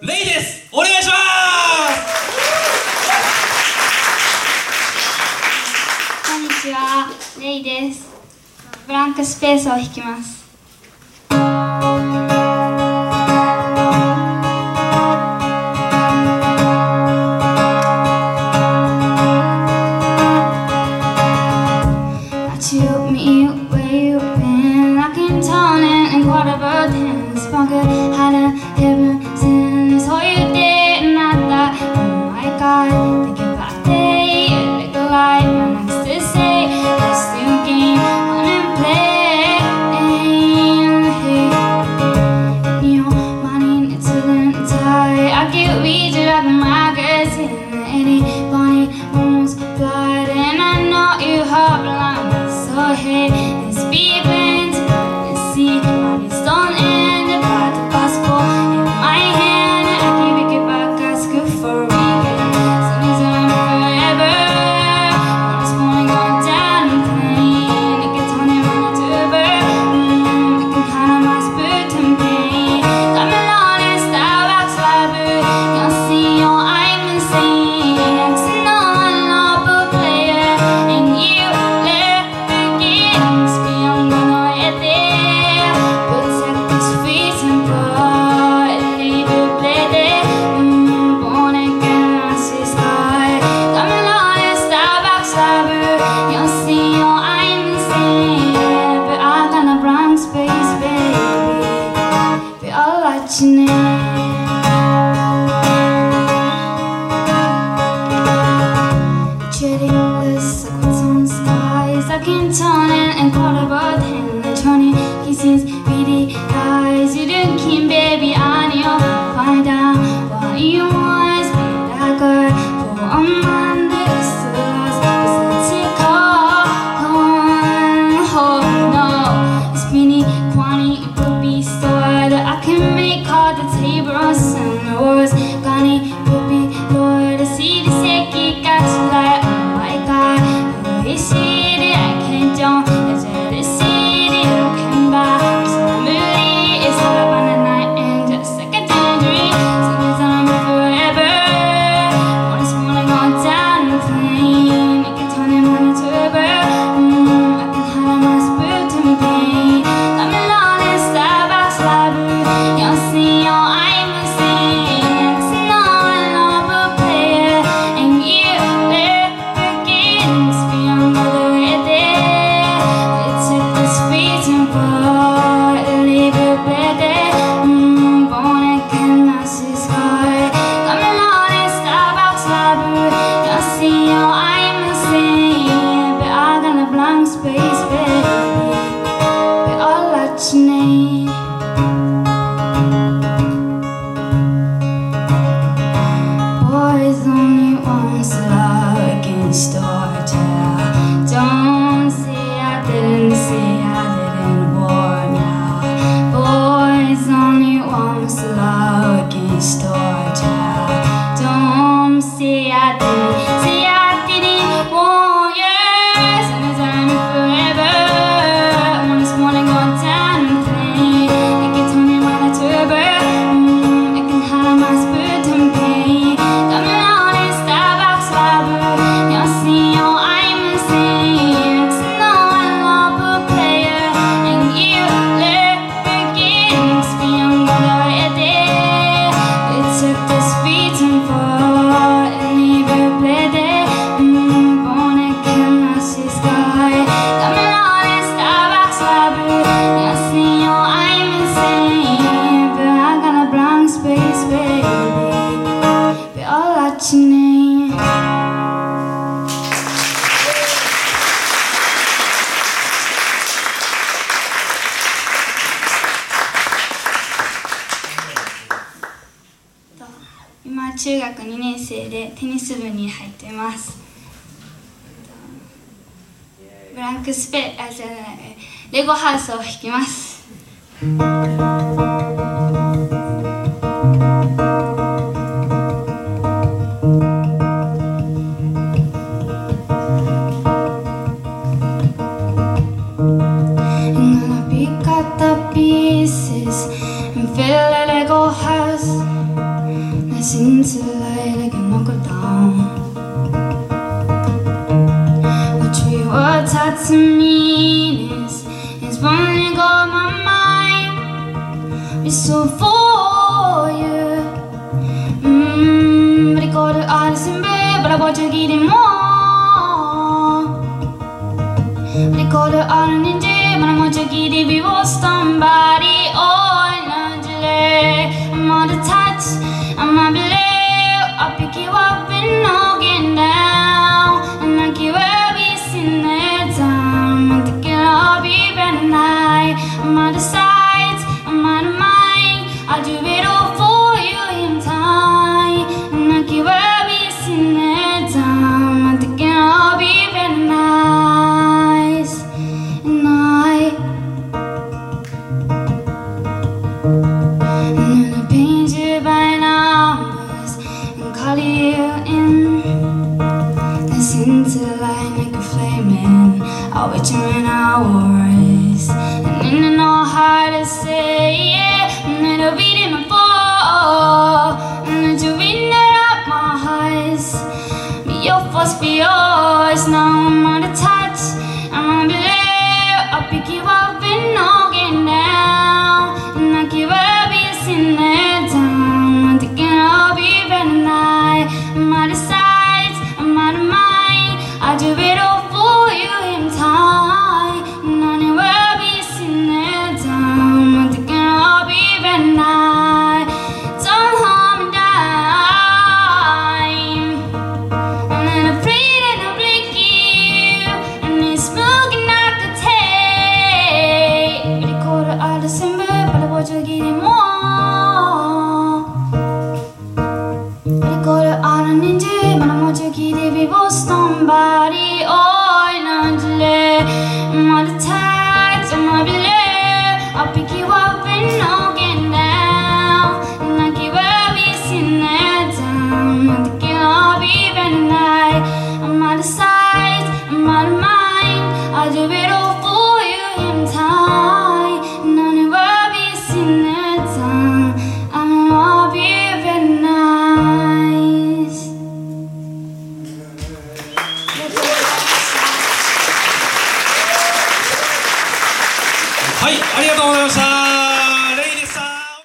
レイです。お願いします。 こんにちは、レイです。ブランクスペースを弾きます。今中学2年生でテニス部に入っています。ブランクスペじゃないレゴハウスを弾きます。Pick up the pieces and fill a Lego house. Listen to the light like a knuckle down. What your words had to mean is running on my mind. It's so for you. But it got the eyes in bed, but I want you getting more. But it got the iron in jail, but I want you getting vivo somebody. I'm on the touch, I'm on below. I'll pick you up and knocking down, and I keep every single time. I'm thinking I'll be better tonight. I'm on the sides, I'm on the mind. I'll do it all for you in time, and I keep every single time. I'm thinking I'll be better nice, and paint you by numbers and call you in. Listen to the light like a flaming. I'll wait you in hours, and then I know how to say it. And it'll beat in my fall, and then you read it up my eyes. Be your force, be yours. Now I'm on the touch, I'm on below. I'll pick you up and knocking down, and I keep in the time. I'm thinking I'll be better tonight. I'm out of sight, I'm out of mind. I'll do it all for you in time, and I never be in the time. I'm thinking I'll be better tonight. Don't harm me dime, and then I pray that I'll break you, and it's smoking like a tape. But it caught it out of December, but I want you to get it more. Ricordo ora ninja, ma non voglio chiedere vivo somebody. Oh.